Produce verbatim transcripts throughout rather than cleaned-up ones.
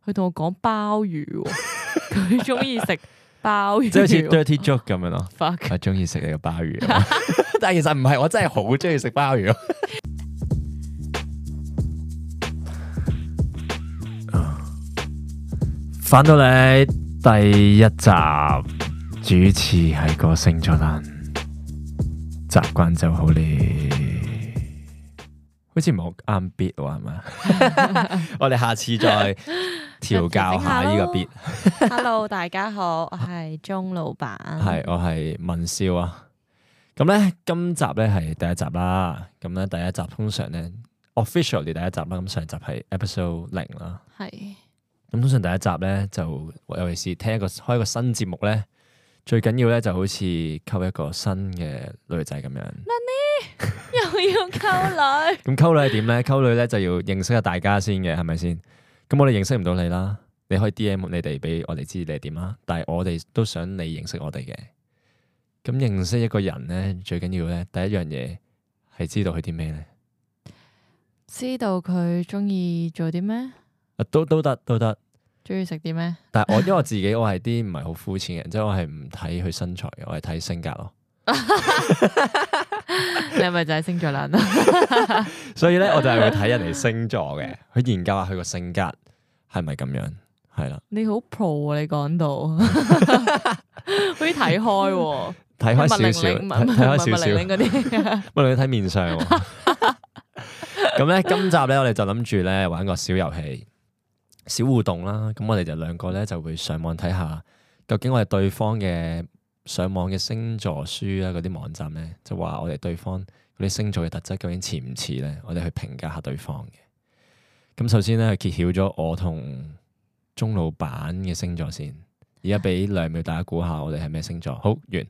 佢同我講鮑魚，佢中意食鮑魚， 即係好似 dirty joke 咁樣咯。 Fuck 我中意食你個鮑魚，但係其實唔係，我真係好中意食鮑魚。翻到嚟第一集，主持係個星座男，習慣就好咧。好似冇啱 beat 喎，係咪？我哋下次再調教下呢個 beat。 Hello， 大家好，我係鐘老闆， 係我係文少啊。咁咧，今集咧係第一集啦。咁咧，第一集通常咧 officially 第一集啦。咁上集係 episode 零啦。係。咁通常第一集咧就尤其是聽一個開一個新節目咧，最緊要咧就好似溝一個新嘅女仔咁樣。又要溝女？咁溝女係點咧？溝女咧就要認識下大家先嘅，係咪先？咁我哋認識唔到你啦，你可以 D M 你哋俾我哋知你係點啦。但係我哋都想你認識我哋嘅。咁認識一個人咧，最緊要咧，第一樣嘢係知道佢啲咩咧？ 知道佢中意做啲咩？ 啊，都都得都得。 中意食啲咩？ 但係我因為我自己我係啲唔係好膚淺嘅人，即係我係唔睇佢身材嘅，我係睇性格咯。 你係咪就係星座男啊？ 所以咧，我就係會睇人哋星座嘅，去研究下佢個性格係咪咁樣，係啦。 你好 pro 啊！你講到好似睇開， 睇開少少，睇開少少嗰啲。不過你睇面相。咁咧，今集咧，我哋就諗住咧玩個小遊戲、小互動啦。咁我哋就兩個咧就會上網睇下，究竟我哋對方嘅。上網嘅星座書啊，嗰啲網站咧就話我哋對方嗰啲星座嘅特質究竟似唔似咧？我哋去評價下對方嘅。咁首先咧，揭曉咗我同鐘老闆嘅星座先。而家俾兩秒大家估下，我哋係咩星座？好完。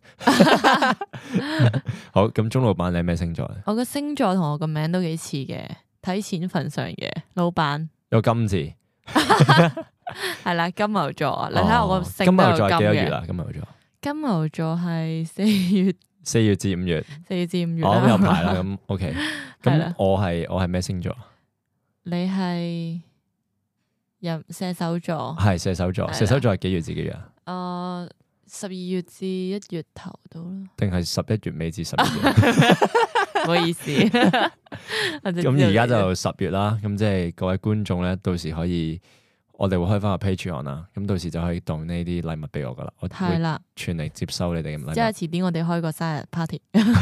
好，咁鐘老闆你係咩星座咧？ 我個星座同我個名都幾似嘅，睇錢份上嘅老闆有金字， 係啦，金牛座啊！你睇下我個星金牛座係幾多月啊？金牛座。 金牛座係四月， 四月至五月， 四月至五月。 我有排啦，咁 OK。咁我係我係咩星座？ 你係入射手座， 係射手座。射手座係幾月至幾月啊？ 誒，十二月至一月頭到啦。定係十一月尾至十二月？ 唔好意思。 咁而家就十月啦，咁即係各位觀眾咧，到時可以。我哋會開翻個 Patreon 啦，咁到時就可以當呢啲禮物俾我噶啦，我會全力接收你哋嘅禮物。即係遲啲我哋開個生日 party，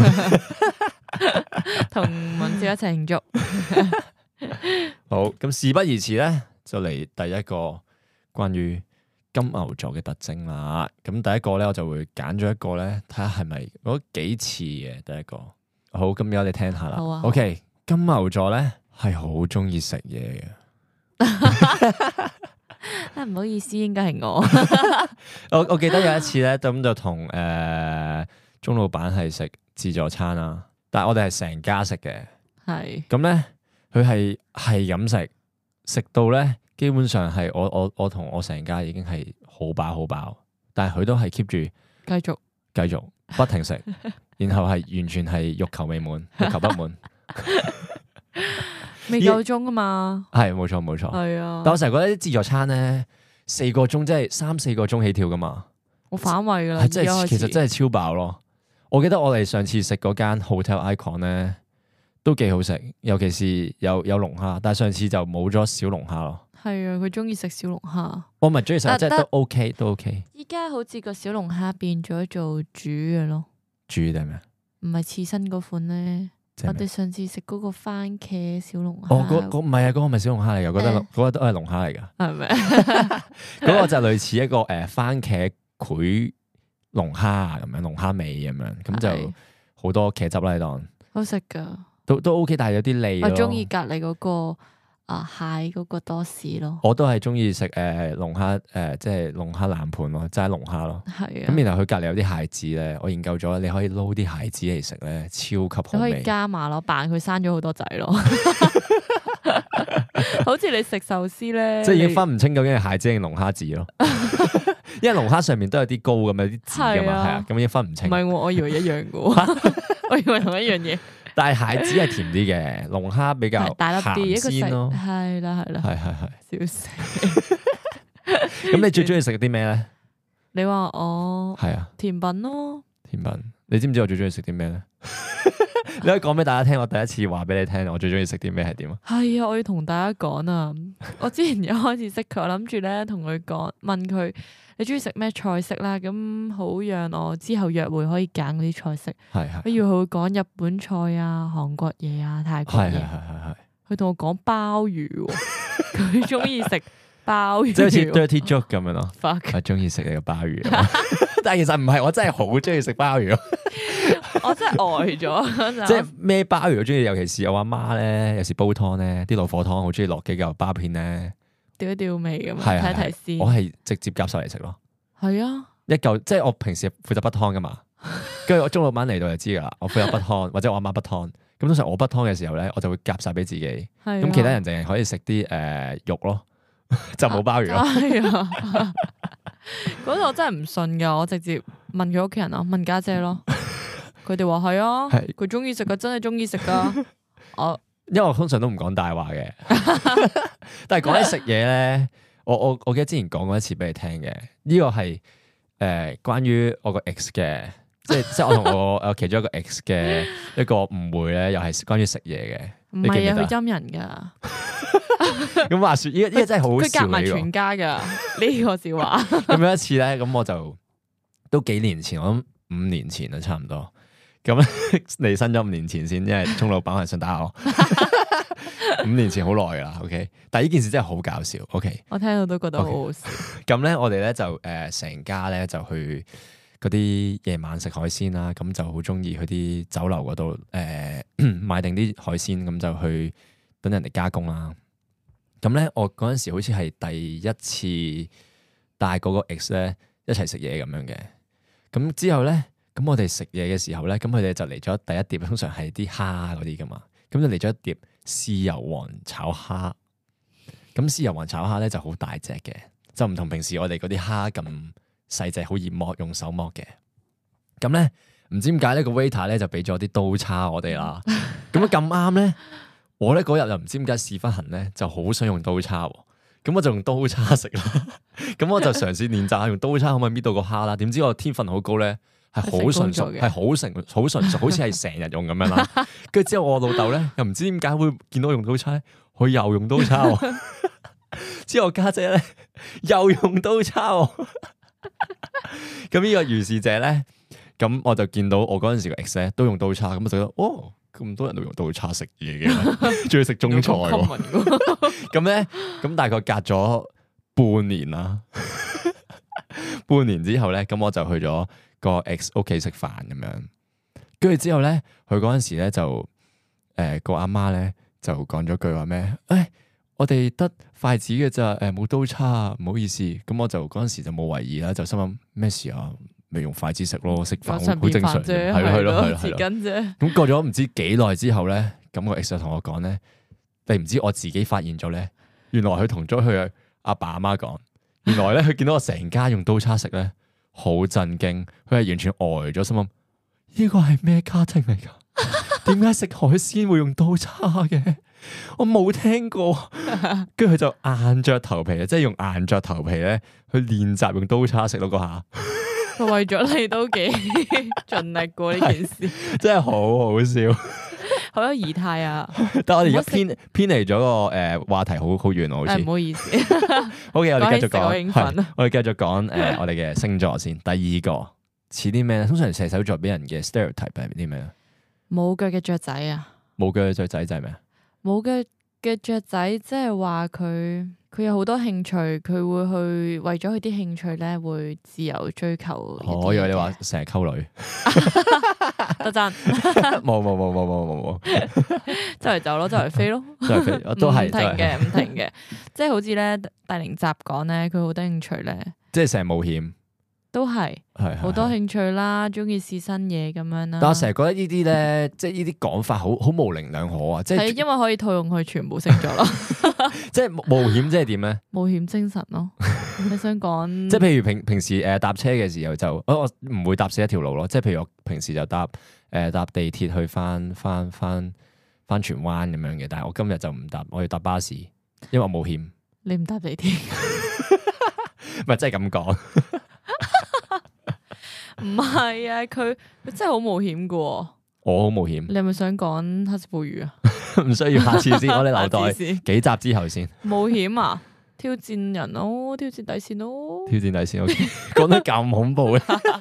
同文少一齊慶祝。 好，咁事不宜遲咧，就嚟第一個關於金牛座嘅特徵啦。咁第一個咧，我就會揀咗一個咧，睇下係咪我覺得幾似嘅第一個。好，咁而家你聽下啦。 啊、 OK，金牛座咧係好中意食嘢嘅。 啊，唔好意思，應該係我。 我我記得有一次咧，咁就同誒鐘老闆係食自助餐啦，但係我哋係成家食嘅。係咁咧，佢係係咁食，食到咧基本上係我我我同我成家已經係好飽好飽，但係佢都係 keep 住繼續繼續不停食，然後係完全係欲求未滿，欲求不滿。 未夠鐘啊嘛， 係冇錯冇錯，係啊。但我成日覺得啲自助餐咧，四個鐘即係三四個鐘起跳噶嘛， 我反胃噶啦， 即係其實真係超飽咯。我記得我哋上次食嗰間 Hotel Icon 咧，都幾好食，尤其是有有龍蝦，但係上次就冇咗小龍蝦咯。係啊， 佢中意食小龍蝦， 我唔係中意食，即係都 OK 都 OK。 依家好似個小龍蝦變咗做煮嘅咯， 煮定係咩？唔係刺身嗰款咧。我哋上次食嗰個番茄小龍蝦， 哦，嗰嗰唔係啊，嗰個唔係小龍蝦嚟噶，覺得嗰個都係龍蝦嚟噶，係咪？嗰個就類似一個誒番茄潰龍蝦咁樣，龍蝦味咁樣，咁就好多茄汁啦喺度，好食噶，都都 OK，但係有啲膩咯。我中意隔籬嗰個啊蟹嗰個多士咯，我都係中意食誒龍蝦誒，即係龍蝦冷盤咯，齋龍蝦咯。係啊，咁然後佢隔籬有啲蟹子咧，我研究咗，你可以撈啲蟹子嚟食咧，超級好味。你可以加碼咯，扮佢生咗好多仔咯，好似你食壽司咧，即係已經分唔清究竟係蟹子定龍蝦子咯。因為龍蝦上面都有啲膏咁，有啲籽噶嘛，係啊，咁已經分唔清。唔係，我以為一樣噶，我以為同一樣嘢。但係蟹子係甜啲嘅，龍蝦比較大粒啲，鹹鮮咯。係啦係啦，係係係，笑死！ 咁你最中意食啲咩咧？ 你話我係啊， 甜品咯。 甜品，你知唔知我最中意食啲咩咧？你可以講俾大家聽，我第一次話俾你聽，我最中意食啲咩係點啊？ 係啊，我要同大家講啊！我之前一開始識佢，我諗住咧同佢講，問佢你中意食咩菜式啦，咁好讓我之後約會可以揀嗰啲菜式。 係係。 不如佢會講日本菜啊、韓國嘢啊、泰國嘢。係係係係。佢同我講鮑魚，佢中意食鮑魚，即係好似 dirty joke 咁樣咯。 我中意食你個鮑魚，但係其實唔係，我真係好中意食鮑魚。 我真係呆咗， 即係咩鮑魚我中意，尤其是我阿媽咧，有時煲湯咧，啲老火湯好中意落幾嚿鮑片咧，調一調味咁樣，睇睇先。我係直接夾晒嚟食咯。係啊，一嚿即係我平時負責煲湯噶嘛，跟住我鐘老闆嚟到就知噶啦，我負責煲湯或者我阿媽煲湯。咁通常我煲湯嘅時候咧，我就會夾晒俾自己。咁其他人淨係可以食啲誒肉咯，就冇鮑魚咯。係啊， 嗰度我真係唔信噶，我直接問佢屋企人咯，問家姐咯。佢哋話係啊，佢中意食噶，真係中意食噶。我因為我通常都唔講大話嘅，但係講起食嘢咧，我我我記得之前講過一次俾你聽嘅，呢個係誒關於我個 ex 嘅。即係即係我同我誒其中一個 ex 嘅一個誤會咧，又係關於食嘢嘅。 唔係啊，佢陰人噶。 咁話說，呢個呢個真係好笑。佢夾埋全家噶呢個笑話。 咁有一次咧，咁我就都幾年前，我諗五年前啦，差唔多。咁離身咗五年前先，因為鐘老闆係想打我。五年前好耐噶啦 ，OK。但係呢件事真係好搞笑，OK。 我聽到都覺得好好笑。 咁咧，我哋咧就誒成家咧就去。嗰啲夜晚食海鮮啦，咁就好中意去啲酒樓嗰度誒買定啲海鮮，咁就去等人哋加工啦。咁咧，我嗰陣時好似係第一次帶嗰個 ex 咧一齊食嘢咁樣嘅。咁之後咧，咁我哋食嘢嘅時候咧，咁佢哋就嚟咗第一碟，通常係啲蝦嗰啲噶嘛。咁就嚟咗一碟豉油皇炒蝦。咁豉油皇炒蝦咧就好大隻嘅，就唔同平時我哋嗰啲蝦咁細隻，好易剝，用手剝嘅。咁咧唔知點解呢個 waiter 咧就俾咗啲刀叉我哋啦。咁咁啱咧，我咧嗰日又唔知點解屎忽痕咧，就好想用刀叉。咁我就用刀叉食啦。咁我就嘗試練習下用刀叉可唔可以搣到個蝦啦。點知我天分好高咧，係好純熟，係好成好純熟，好似係成日用咁樣啦。跟住之後我老豆咧又唔知點解會見到我用刀叉咧，佢又用刀叉。之後我家姐咧又用刀叉。咁呢個如是者咧，咁我就見到我嗰陣時個 ex 咧都用刀叉，咁我就覺得哦，咁多人都用刀叉食嘢嘅，仲要食中菜喎。咁咧，咁大概隔咗半年啦，半年之後咧，咁我就去咗個 ex 屋企食飯咁樣，跟住之後咧，佢嗰陣時咧就誒個阿媽咧就講咗句話咩？誒。我哋得筷子嘅咋，誒冇刀叉，唔好意思。咁我就嗰陣時就冇懷疑啦，就心諗咩事啊？咪用筷子食咯，食飯好正常啫，係咯係咯係咯。匙羹啫。咁過咗唔知幾耐之後咧，咁個 ex 就同我講咧，你唔知我自己發現咗咧，原來佢同咗佢阿爸阿媽講，原來咧佢見到我成家用刀叉食咧，好震驚，佢係完全呆咗，心諗呢個係咩家庭嚟噶？點解食海鮮會用刀叉嘅？我冇聽過，跟住佢就硬着頭皮，即係用硬着頭皮咧去練習用刀叉食咯嗰下。 佢為咗你都幾盡力過呢件事， 真係好好笑， 好有儀態啊！ 但係我哋而家偏偏離咗個誒話題，好好遠好似。唔好意思。 好嘅，我哋繼續講，我哋繼續講誒，我哋嘅星座先。第二個似啲咩咧？通常射手座俾人嘅 stereotype 係啲咩咧？ 冇腳嘅雀仔啊！ 冇腳嘅雀仔就係咩啊？ 冇腳嘅雀仔，即係話佢佢有好多興趣，佢會去為咗佢啲興趣咧，會自由追求。 我以為你話成日溝女， 得讚。 冇冇冇冇冇冇冇， 周圍走咯，周圍飛咯， 周圍飛，都係唔停嘅，唔停嘅。即係好似咧，大靈集講咧，佢好多興趣咧， 即係成日冒險。 都係，係好多興趣啦，中意試新嘢咁樣啦。但我成日覺得呢啲咧，即係呢啲講法好好模棱兩可啊！即係因為可以套用佢全部星座咯。 即係冒險，即係點咧？ 冒險精神咯。你想講？ 即係譬如平平時誒搭車嘅時候就，我我唔會搭死一條路咯。即係譬如我平時就搭誒搭地鐵去翻翻翻翻荃灣咁樣嘅，但係我今日就唔搭，我要搭巴士，因為我冒險。 你唔搭地鐵？ 唔係真係咁講。 唔係啊，佢佢真係好冒險噶。 我好冒險。 你係咪想講黑色暴雨啊？ 唔需要，下次先，我哋留待幾集之後先。 冒險啊！挑戰人咯，挑戰底線咯。挑戰底線，我講得咁恐怖咧，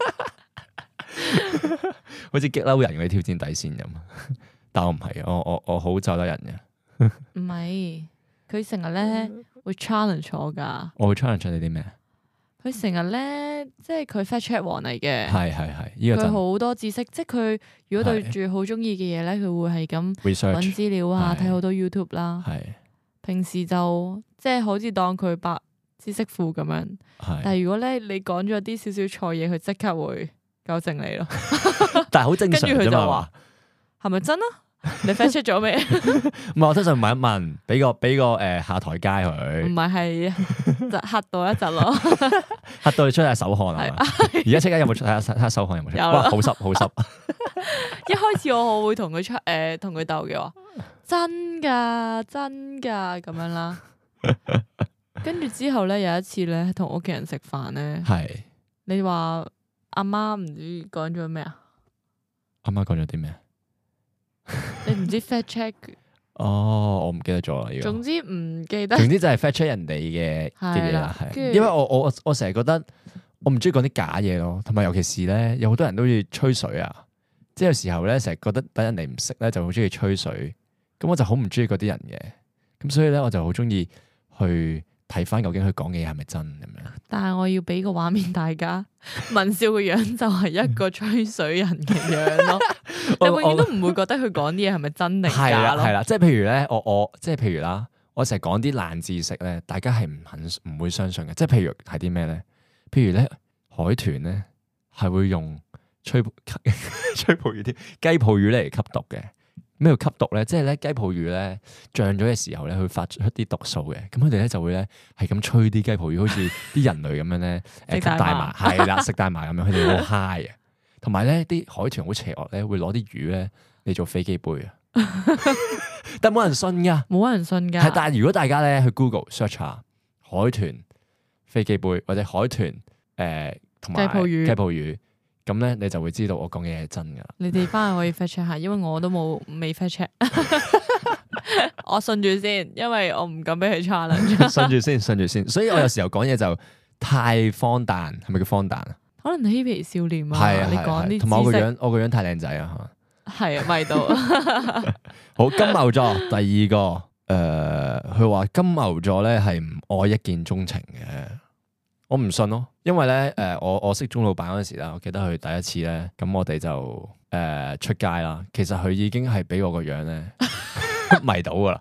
好似激嬲人嗰啲挑戰底線咁。但我唔係，我我我好就得人嘅。 唔係，佢成日咧會 challenge 我噶。 我會 challenge 你啲咩？ 佢成日咧，即係佢 fact check 王嚟嘅。 係係係，呢個佢好多知識，即係佢如果對住好中意嘅嘢咧，佢會係咁揾資料啊，睇好多 YouTube 啦。係。平時就即係好似當佢白知識庫咁樣。係。但係如果咧你講咗啲少少錯嘢，佢即刻會糾正你咯。 但係好正常啫嘛。跟住佢就話： 係咪真啊？你 fact check 咗未？ 唔係，我通常問一問，俾個俾個誒下台階佢。唔係係，就嚇到一陣咯。 嚇到你出下手汗啊！而家即刻有冇出下睇下手汗有冇出？哇，好濕好濕。 一開始我我會同佢出誒同佢鬥嘅話，真㗎真㗎咁樣啦。跟住之後咧，有一次咧，同屋企人食飯咧，係你話阿媽唔知講咗咩啊？ 阿媽講咗啲咩？ 你唔知 fact check？ 哦，我唔記得咗啦。 總之唔記得。 總之就係 fact check 人哋嘅嘅嘢啦，係。因為我我我成日覺得我唔中意講啲假嘢咯，同埋尤其是咧，有好多人都要吹水啊。即係有時候咧，成日覺得等人哋唔識咧，就好中意吹水。咁我就好唔中意嗰啲人嘅。咁所以咧，我就好中意去睇翻究竟佢講嘅嘢係咪真咁樣。但係我要俾個畫面大家，文少嘅樣就係一個吹水人嘅樣咯。你永遠都唔會覺得佢講啲嘢係咪真定假咯？係啦，即係譬如咧，我我即係譬如啦，我成日講啲爛知識咧，大家係唔肯唔會相信嘅。即係譬如係啲咩咧？譬如咧，海豚咧係會用吹吹泡魚啲雞泡魚嚟吸毒嘅。咩叫吸毒咧？即係咧雞泡魚咧脹咗嘅時候咧，會發出一啲毒素嘅。咁佢哋咧就會咧係咁吹啲雞泡魚，好似啲人類咁樣咧誒吸大麻，係啦，食大麻咁樣，佢哋好 high 啊！同埋咧，啲海豚好邪惡咧，會攞啲魚咧嚟做飛機杯啊！但冇人信噶，冇人信噶。係，但係如果大家咧去 Google search 下海豚飛機杯或者海豚誒同埋雞泡魚，雞泡魚咁咧，你就會知道我講嘅嘢係真噶啦。你哋翻去可以 fact check 下，因為我都冇未 fact check。我信住先，因為我唔敢俾佢 challenge。信住先，信住先。所以我有時候講嘢就太荒誕，係咪叫荒誕啊？可能嬉皮笑臉啊，啊你講啲同埋我個樣，我個樣太靚仔啊，係啊，咪到。好，金牛座第二個，誒、呃，佢話金牛座咧係唔愛一見鍾情嘅，我唔信咯，因為咧，誒、呃，我我識鐘老闆嗰陣時啦，我記得佢第一次咧，咁我哋就誒、呃、出街啦，其實佢已經係俾我個樣咧迷到噶啦，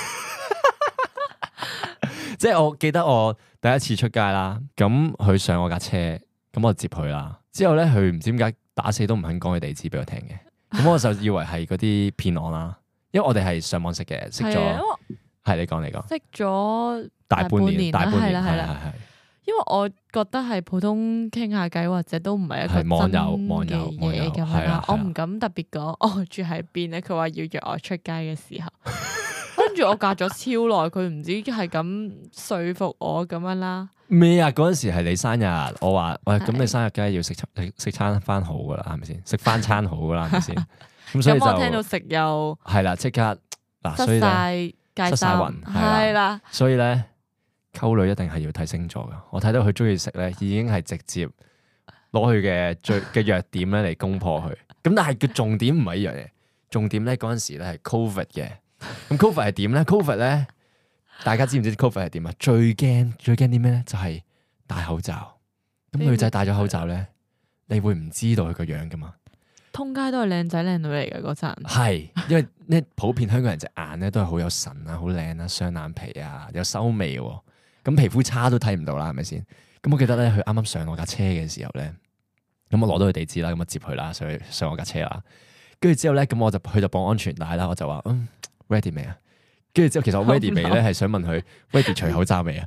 即係我記得我第一次出街啦，咁佢上我架車。咁我接佢啦，之後咧佢唔知點解打死都唔肯講佢地址俾我聽嘅，咁我就以為係嗰啲騙案啦，因為我哋係上網識嘅，識咗，係你講你講，識咗大半年，大半年係啦係係，因為我覺得係普通傾下偈或者都唔係一個真嘅嘢咁樣啦，我唔敢特別講，我住喺邊咧，佢話要約我出街嘅時候，跟住我隔咗超耐，佢唔知係咁說服我咁樣啦。咩啊？嗰陣時係你生日，我話喂，咁你生日梗係要食餐食餐翻好噶啦，係咪先？食翻餐好噶啦，係咪先？咁所以就我聽到食又係啦，即刻嗱，所以咧失晒魂係啦。所以咧溝女一定係要睇星座噶。我睇到佢中意食咧，已經係直接攞佢嘅最嘅弱點咧嚟攻破佢。咁但係個重點唔係呢樣嘢，重點咧嗰陣時咧係 Covid 嘅。咁 Covid 係點咧 ？Covid 咧？大家知唔知 Covid 係點啊？最驚最驚啲咩咧？就係戴口罩。咁女仔戴咗口罩咧，你會唔知道佢個樣噶嘛？通街都係靚仔靚女嚟嘅嗰陣。係，因為咧普遍香港人隻眼咧都係好有神啊，好靚啊，雙眼皮啊，有修眉喎。咁皮膚差都睇唔到啦，係咪先？咁我記得咧，佢啱啱上我架車嘅時候咧，咁我攞到佢地址啦，咁我接佢啦，上去上我架車啦。跟住之後咧，咁我就佢就綁安全帶啦，我就話嗯 ready 未啊？跟住之後，其實我 ready 未咧，係想問佢 ready 除口罩未啊？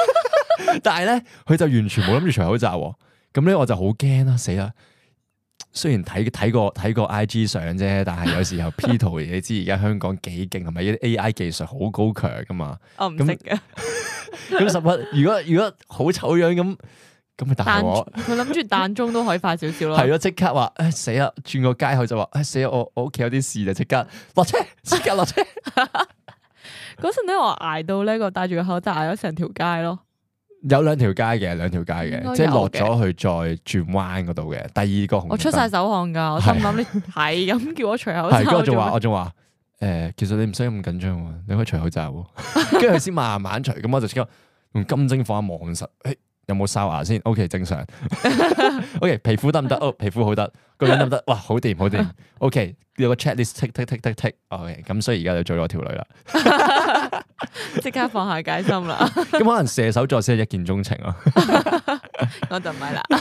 但係咧，佢就完全冇諗住除口罩喎。咁咧，我就好驚啦，死啦！ 雖然睇睇過睇過 I G 相啫，但係有時候 P 圖你知而家香港幾勁，係咪啲 A I 技術好高強噶嘛？ 我唔識嘅。 咁十一，如果如果好醜樣咁，咁咪大鑊。 佢諗住彈鐘都可以快少少咯。 係咯，即刻話誒死啦！轉個街口就話誒死啦！我我屋企有啲事就即刻落車，即刻落車。 嗰陣咧，我挨到呢個戴住個口罩挨咗成條街咯。 有兩條街嘅，兩條街嘅，即係落咗去再轉彎嗰度嘅。第二個紅燈我出晒手汗噶，我心諗你係咁叫我除口罩。 係，我仲話我仲話誒，其實你唔使咁緊張喎，你可以除口罩。跟住佢先慢慢除，咁我就即刻用金睛火望實，誒有冇哨牙先 ？OK 正常。OK 皮膚得唔得？哦皮膚好得，個樣得唔得？哇好掂好掂。OK 有個 checklist tick tick tick tick tick。OK 咁所以而家就做咗條女啦。 即刻放下戒心啦！ 咁可能射手座先係一見鍾情咯。 我就唔係啦。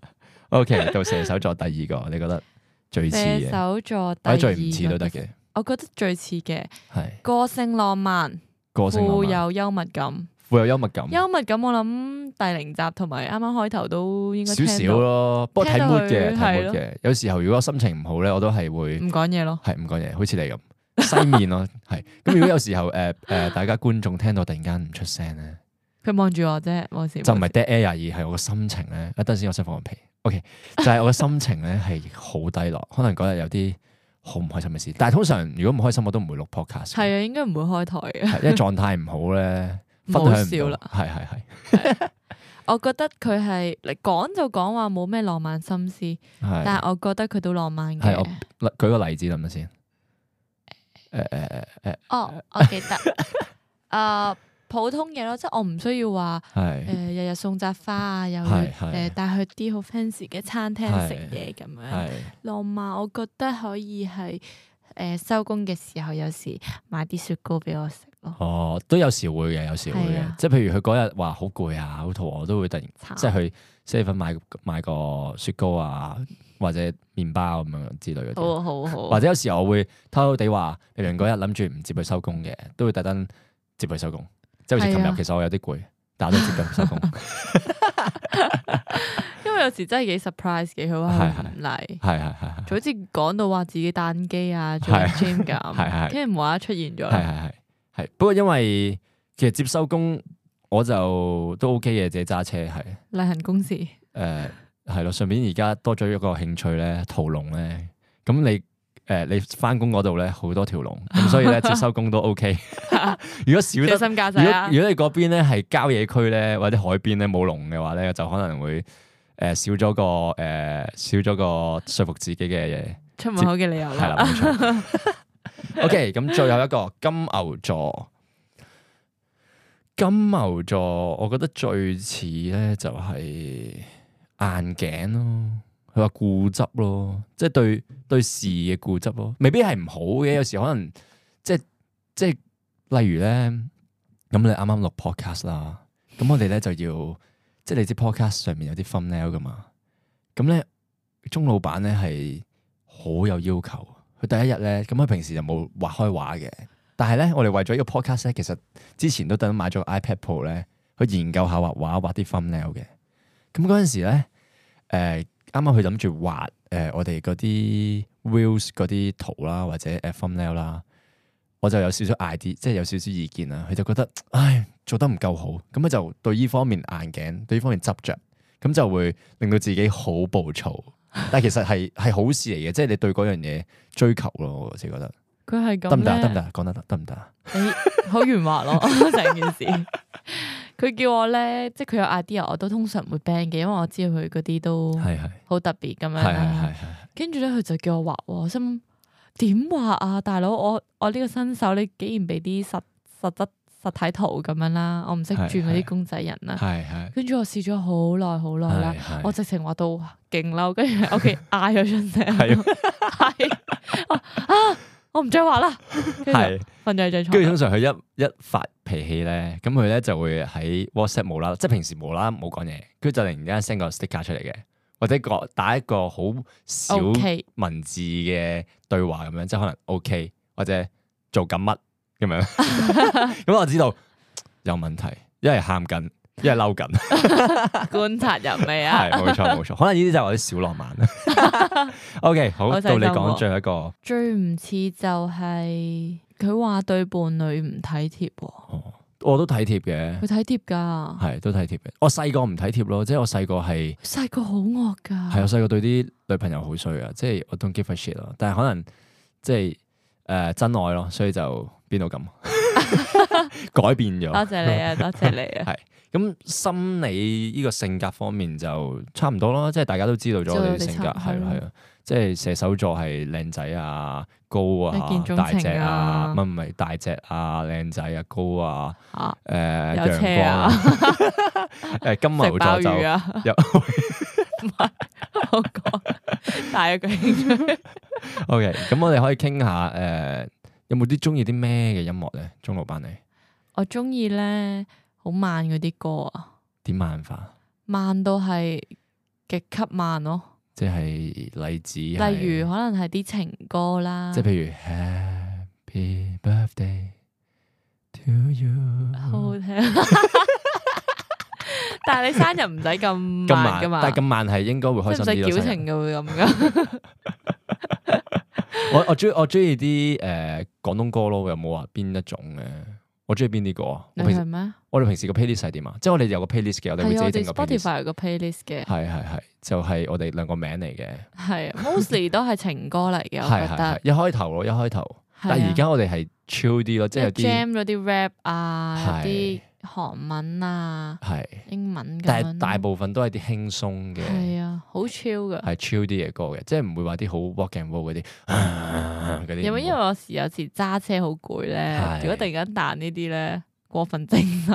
OK，到射手座第二個，你覺得最似嘅？ 射手座第二個， 最唔似都得嘅。 我覺得最似嘅係個性浪漫， 個性富有幽默感， 富有幽默感。 幽默感我諗第零集同埋啱啱開頭都應該少少咯，不過睇 mood 嘅，睇 mood 嘅。 的有時候如果心情唔好咧，我都係會唔講嘢咯， 係唔講嘢，好似你咁。西面咯，係咁。如果有時候誒誒、呃呃，大家觀眾聽到突然間唔出聲咧， 佢望住我啫，冇事。 就唔係 dead air，而係我個心情咧。一陣先，我想放個屁。OK，就係我嘅心情咧係好低落，可能嗰日有啲好唔開心嘅事。但係通常如果唔開心，我都唔會錄 podcast。係啊，應該唔會開台嘅， 因為狀態唔好咧，分享唔到。係係係。 我覺得佢係你講就講話冇咩浪漫心思，是但係我覺得佢都浪漫嘅。 係我舉個例子諗下先。誒誒誒誒， 哦，我記得，誒、呃，普通嘢咯，即係我唔需要話，誒是，日日、呃、送紮花啊，又誒帶去啲好 fancy 嘅餐廳食嘢咁樣，浪漫，我覺得可以係誒收工嘅時候，有時買啲雪糕俾我食咯。哦， 都有時會嘅，有時會嘅，啊、即係譬如佢嗰日話好攰啊，好肚餓，我都會突然慘即係去 seven 買買個雪糕啊。或者麵包咁樣之類嘅， 好好好。 或者有時候我會偷偷地話，譬如嗰日諗住唔接佢收工嘅，都會特登接佢收工。即係好似琴日，其實我有啲攰，但我都接佢收工。 因為有時真係幾 surprise 嘅，佢話唔嚟， 係係係， 就好似講到話自己彈機啊，做 gym 咁，跟住無啦啦出現咗。 係係係係。不過因為其實接收工我就都 OK 嘅，自己揸車係例行公事。 誒。係咯，順便而家多咗一個興趣咧，屠龍咧。咁你誒、呃，你翻工嗰度咧好多條龍，咁所以咧接收工都 OK。如果少得， 小心駕駛啊、 如果如果你嗰邊咧係郊野區咧，或者海邊咧冇龍嘅話咧，就可能會誒、呃、少咗個誒、呃、少咗個說服自己嘅嘢出門口嘅理由啦。 係啦，冇錯。OK，咁最後一個金牛座。金牛座，我覺得最似咧就係、是。硬頸咯，佢話固執咯，即係對對事嘅固執咯，未必係唔好嘅。有時可能即係即係，例如咧，咁你啱啱錄 podcast 啦，咁我哋咧就要，即係你知 podcast 上面有啲 thumbnail 噶嘛，咁咧鐘老闆咧係好有要求，佢第一日咧，咁佢平時就冇畫開畫嘅，但係咧我哋為咗呢個 podcast 咧，其實之前都等買咗個 iPad Pro 咧，去研究下畫畫，畫啲 thumbnail 嘅。咁嗰陣時咧，誒啱啱佢諗住畫誒我哋嗰啲 reels 嗰啲圖啦，或者誒 thumbnail 啦，我就有少少 idea，即係有少少意見啦。佢就覺得，唉，做得唔夠好，咁佢就對呢方面硬頸，對呢方面執着，咁就會令到自己好暴躁。但係其實係係好事嚟嘅，即係你對嗰樣嘢追求咯，我自己覺得。 佢係咁得唔得？得唔得？講得得得唔得啊？ 你好圓滑咯，成件事。佢叫我咧，即係佢有 idea，我都通常唔會 ban 嘅，因為我知道佢嗰啲都好特別咁樣啦。跟住咧，佢就叫我畫，我心點畫啊，大佬，我我呢個新手，你竟然俾啲實實質實體圖咁樣啦，我唔識轉嗰啲公仔人啦。跟住我試咗好耐好耐啦，我直情畫到勁嬲，跟住喺屋企嗌咗出聲，係啊！我唔再畫啦，係瞓咗喺張床。 跟住通常佢一一發脾氣咧，咁佢咧就會喺 WhatsApp 冇啦，即係平時冇啦冇講嘢，跟住就突然間 send 個 sticker 出嚟嘅，或者個打一個好小文字嘅對話咁樣，即係可能 OK 或者做緊乜咁樣，咁我知道有問題，一係喊緊， 一係嬲緊。 觀察人未啊？ 係冇錯冇錯，可能呢啲就係我啲小浪漫。OK， 好，到你講最後一個。最唔似就係佢話對伴侶唔體貼。 哦，我都體貼嘅。 佢體貼噶， 係都體貼嘅。我細個唔體貼咯，即係我細個係細個好惡噶。 係我細個對啲女朋友好衰啊，即係我 don't give a shit 咯。但係可能即係誒真愛咯，所以就變到咁改變咗。多謝你啊，多謝你啊。 係咁心理呢個性格方面就差唔多咯，即係大家都知道咗我哋性格係咯係啊。即係射手座係靚仔啊、高啊、大隻啊，唔係唔係大隻啊、靚仔啊、高啊，誒陽光啊，誒金牛座就有唔係我講大一個興趣。 OK， 咁我哋可以傾下誒，有冇啲中意啲咩嘅音樂咧？鐘老闆你？ 我中意咧好慢嗰啲歌啊。點慢法？ 慢到係極級慢咯。 即係例子，例如可能係啲情歌啦， 即係譬如 Happy Birthday to you， 好好聽。但係你生日唔使咁慢噶嘛？ 但係咁慢係應該會開心啲咯。 唔使矯情嘅會咁噶。 我我中我中意啲誒廣東歌咯，有冇話邊一種嘅？我中意邊啲歌啊？ 你係咩？ 我哋平時個 playlist 係點啊？即係我哋有個 playlist 嘅，我哋會自己整個 playlist。 Spotify 有個 playlist 嘅。 係係係，就係我哋兩個名嚟嘅。係 ，mostly 都係情歌嚟嘅，我覺得。 一開頭咯，一開頭。但係而家我哋係 chill 啲咯，即係有啲 jam 嗰啲 rap 啊，啲韓文啊，英文咁樣。 但係大部分都係啲輕鬆嘅。 係啊，好 chill 嘅。 係 chill 啲嘅歌嘅，即係唔會話啲好 rock and roll 嗰啲嗰啲。 有冇因為我時有時揸車好攰咧？如果突然間彈呢啲咧，過分精神。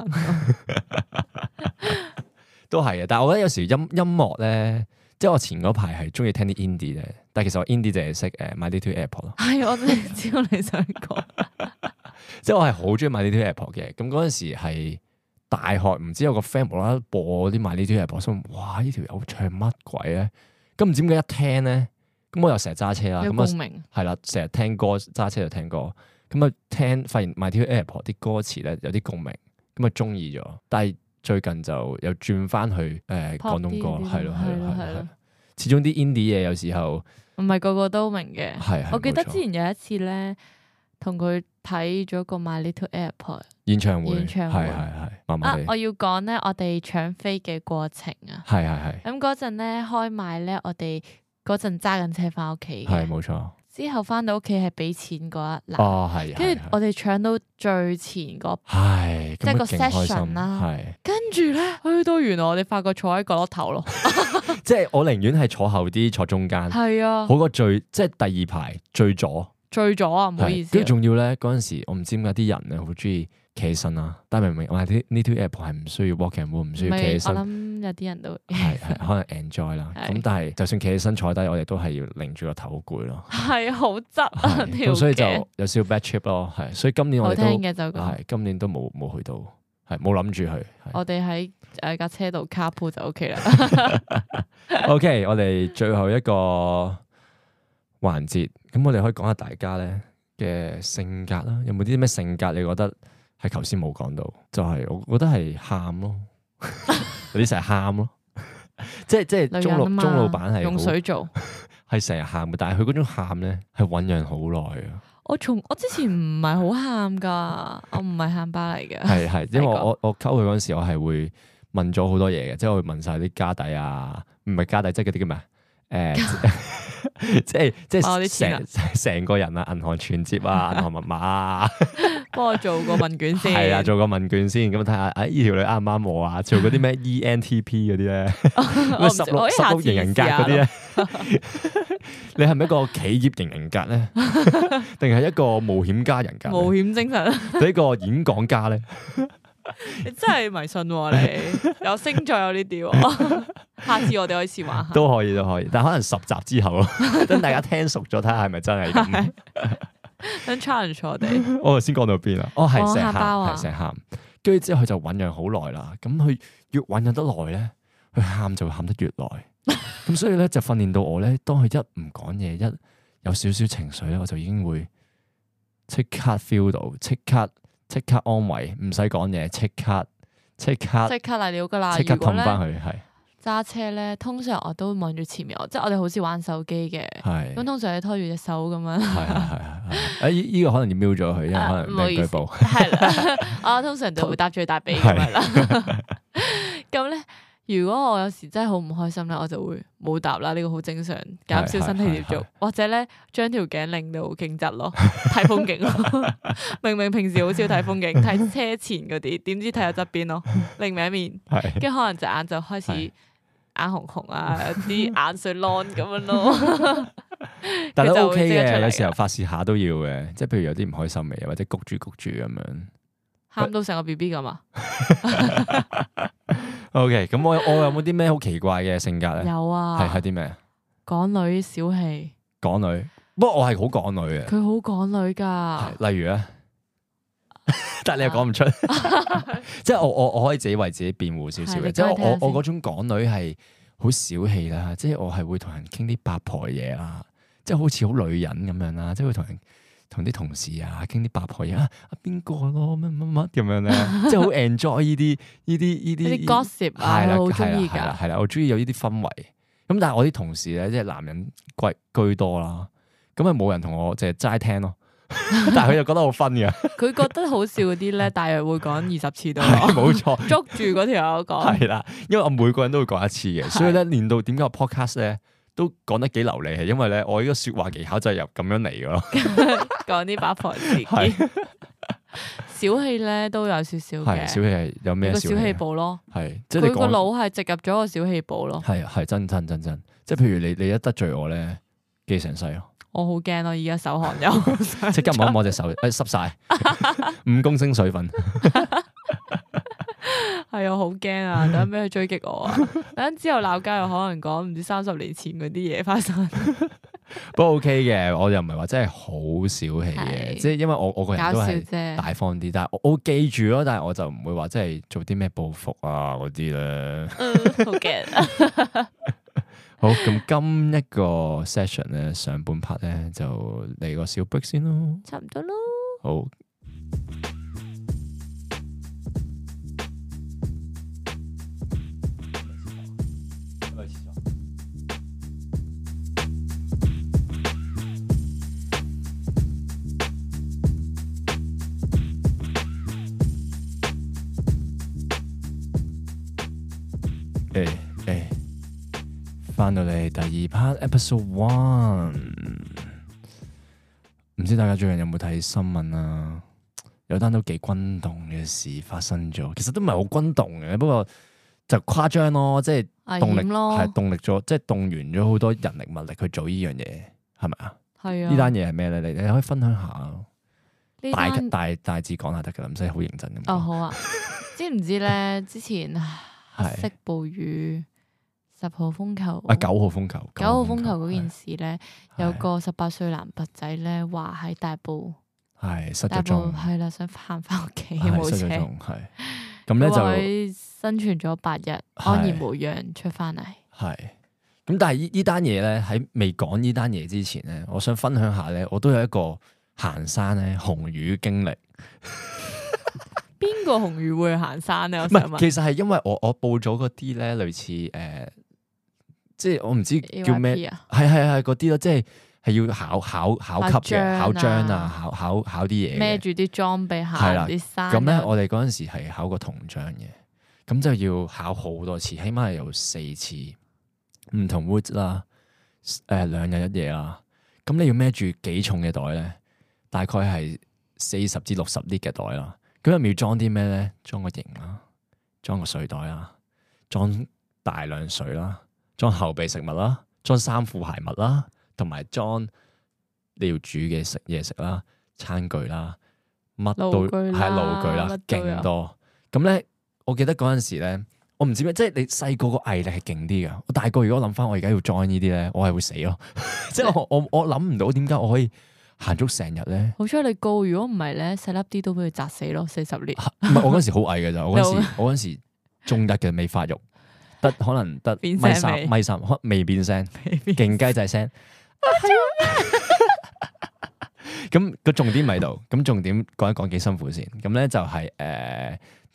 都係嘅，但係我覺得有時音音樂咧，即係我前嗰排係中意聽啲 indie 咧，但係其實我 indie 淨係識誒 My Little Airport 咯。 係，我真係知道你想講。 即係我係好中意 My Little Airport 嘅，咁嗰陣時係大學，唔知有個 friend 無啦啦播啲 My Little Airport，心哇呢條友唱乜鬼咧？咁唔知點解一聽咧，咁我又成日揸車啦，咁啊係啦，成日聽歌揸車就聽歌，咁啊聽發現 My Little Airport 啲歌詞咧有啲共鳴，咁啊中意咗，但係。最近就又轉翻去誒廣東歌，係咯係咯係咯，始終啲 indie 嘢有時候唔係個個都明嘅。 係係， 我記得之前有一次咧，同佢睇咗個 My Little Airport 演唱會， 演唱會係係係，麻麻地。 啊，我要講咧，我哋搶飛嘅過程啊， 係係係。 咁嗰陣咧開賣咧，我哋嗰陣揸緊車翻屋企嘅， 係冇錯。 之後翻到屋企係俾錢嗰一欄， 哦係， 跟住我哋搶到最前嗰， 係即係個 session 啦， 係。跟住咧去到原來我哋發覺坐喺角落頭咯， 即係我寧願係坐後啲，坐中間，係啊，好過最即係第二排最左，最左啊，唔好意思。跟住仲要咧嗰陣時，我唔知點解啲人咧好中意企起身啦，但係明明我哋啲呢條 app 係唔需要 walk and roll， 唔需要企起身。我諗有啲人都係係可能 enjoy 啦。咁但係就算企起身坐低，我哋都係要擰住個頭好攰咯。係好側啊條。咁所以就有少少 bad trip 咯，係。所以今年我哋都係今年都冇冇去到，係冇諗住去。我哋喺誒架車度 carpool 就 OK 啦。OK，我哋最後一個環節，咁我哋可以講下大家咧嘅性格啦。有冇啲咩性格你覺得？係頭先冇講到，就係、是、我覺得係喊咯，有啲成日喊咯，即係即係鐘老鐘老闆係用水做，係成日喊嘅，但係佢嗰種喊咧係醞釀好耐啊！我從我之前唔係好喊噶，我唔係喊巴嚟嘅，係係，因為我我我溝佢嗰陣時，我係會問咗好多嘢嘅，即係我會問晒啲家底啊，唔係家底，即係嗰啲叫咩？誒，即係即係成成個人啊，銀行存折啊，銀行密碼啊，幫我做個問卷先，係啊，做個問卷先，咁睇下，誒，呢條女啱唔啱我啊？做嗰啲咩 E N T P 嗰啲咧，十六十六型人格嗰啲咧，你係咪一個企業型人格咧，定係一個冒險家人格？冒險精神，定一個演講家咧？你真係迷信喎、啊！你有星座有呢啲，下次我哋可以試玩下。都可以都可以，但係可能十集之後咯，等大家聽熟咗，睇下係咪真係咁。等 challenge 我哋。我頭先講到邊啊？哦，係成喊，係成喊。跟住之後佢就醞釀好耐啦。咁佢越醞釀得耐咧，佢喊就會喊得越耐。咁所以咧就訓練到我咧，當佢一唔講嘢，一有少少情緒咧，我就已經會即刻 feel 到，即刻。即刻安慰，唔使講嘢，即刻即刻即刻嚟料噶啦！ 即刻氹翻佢，係揸車咧，通常我都望住前面，即係我哋好似玩手機嘅，咁通常你拖住隻手咁樣。係係係係，誒依個可能要瞄咗佢，因為可能俾佢舉報。 係啦，我通常就會搭最大髀咁樣啦。咁咧。如果我有時真係好唔開心咧，我就會冇答啦，呢個好正常，減少身體接觸，或者咧將條頸擰到勁直咯，睇風景咯。明明平時好少睇風景，睇車前嗰啲，點知睇下側邊咯，另一面，跟住可能隻眼就開始眼紅紅啊，啲眼水啷咁樣咯。 但係都 OK 嘅，有時候發泄下都要嘅，即係譬如有啲唔開心嘅，或者谷住谷住咁樣， 喊到成個 B B 咁啊！ O K， 咁我我有冇啲咩好奇怪嘅性格咧？ 有啊， 係係啲咩？ 港女小氣。 港女，不過我係好港女嘅。 佢好港女噶。 例如咧，但係你又講唔出，即係我我我可以自己為自己辯護少少嘅，即係我我嗰種港女係好小氣啦，即係我係會同人傾啲八婆嘢啦，即係好似好女人咁樣啦，即係會同人。同啲同事啊，傾啲八婆嘢啊，邊個咯，乜乜乜咁樣咧，即係好 enjoy 呢啲呢啲呢啲。啲 gossip 啊，我好中意㗎。 係啦，我中意有呢啲氛圍。咁但係我啲同事咧，即係男人貴居多啦，咁啊冇人同我淨係齋聽咯。但係佢又覺得好分㗎。佢覺得好笑嗰啲咧，大約會講二十次都冇錯， 捉住嗰條友講。 係啦，因為我每個人都會講一次嘅，所以咧練到點解個 podcast 咧都講得幾流利，係因為咧我呢個説話技巧就係由咁樣嚟嘅咯。 講啲八婆事件，小氣咧都有少少嘅。 小氣係有咩？個小氣寶咯， 係即係佢個腦係植入咗個小氣寶咯。 係係真真真真，即係譬如你你一得罪我咧，記成世咯。 我好驚咯，而家手汗有， 即刻摸一摸隻手，誒濕晒，五公升水分。 係啊，好驚啊！等俾佢追擊我啊！等之後鬧交又可能講唔知三十年前嗰啲嘢發生。 不過 OK 嘅，我又唔係話真係好小氣嘅，即係因為我我個人都係大方啲，但係我我記住咯，但係我就唔會話真係做啲咩報復啊嗰啲咧。 好驚。 好，咁今一個 session 咧，上半 part 咧就嚟個小 break 先咯。 差唔多咯。 好。誒誒，翻到嚟第二 part episode one，唔知大家最近有冇睇新聞啊？有單都幾轟動嘅事發生咗，其實都唔係好轟動嘅，不過就誇張咯，即係動力係動力咗，即係動員咗好多人力物力去做呢樣嘢，係咪啊？係啊。呢單嘢係咩咧？你你可以分享下，大大大致講下得噶啦，唔使好認真咁。 哦，好啊。知唔知咧？之前黑色暴雨、十號風球， 啊九號風球， 九號風球嗰件事咧，有個十八歲男拔仔咧話喺大埔， 係失咗蹤， 係啦，想行翻屋企冇車， 係咁咧就生存咗八日，安然無恙出翻嚟。 係咁，但係呢呢單嘢咧喺未講呢單嘢之前咧，我想分享下咧，我都有一個行山咧紅雨經歷。 邊個紅雨會去行山咧？ 唔係，其實係因為我我報咗嗰啲咧，類似誒、呃，即係我唔知叫咩，係係係嗰啲咯，即係係要考考考級嘅，考章啊，考考考啲嘢，孭住啲裝備行啲山。 咁咧，我哋嗰陣時係考個銅章嘅，咁就要考好多次，起碼係有四次唔同 route 啦，誒、呃、兩日一夜啦。咁你要孭住幾重嘅袋咧？大概係四十至六十 lit 嘅袋啦。咁入面要裝啲咩咧？裝個營啦，裝個水袋啦，裝大量水啦，裝後備食物啦，裝衫褲鞋襪啦，同埋裝你要煮嘅食嘢食啦，餐具啦，乜都係爐具啦，勁多。咁咧，我記得嗰陣時咧，我唔知咩，即係你細個個毅力係勁啲噶。我大個如果諗翻，我而家要 join 呢啲咧，我係會死咯。即係我我我諗唔到點解我可以行足成日咧， 好彩你高，如果唔係咧，細粒啲都俾佢砸死咯，四十年。 唔係我嗰時好矮嘅咋，我嗰時我嗰時中一嘅未發育，得可能得米三米三，未變聲，勁雞仔聲。咁個重點喺度，咁重點講一講幾辛苦先。咁咧就係誒